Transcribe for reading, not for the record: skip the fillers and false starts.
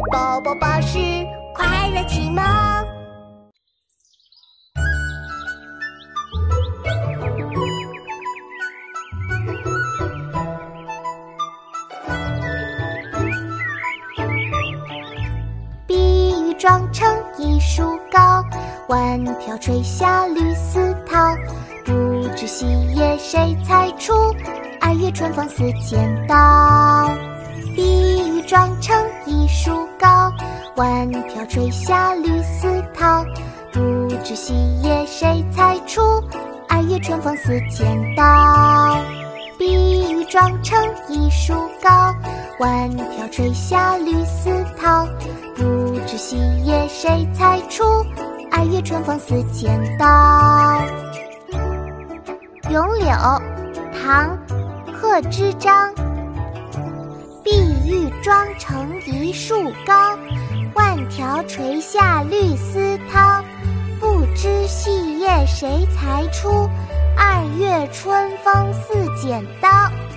宝宝巴士快乐启蒙。碧玉妆成一树高，万条垂下绿丝绦。不知细叶谁裁出，2月春风似剪刀。碧玉妆成一树高，万条垂下绿丝绦。不知细叶谁裁出，2月春风似剪刀。碧玉妆成一树高，万条垂下绿丝绦。不知细叶谁裁出，2月春风似剪刀。咏柳，唐·贺知章。碧玉妆成一树高，万条垂下绿丝绦。不知细叶谁裁出，2月春风似剪刀。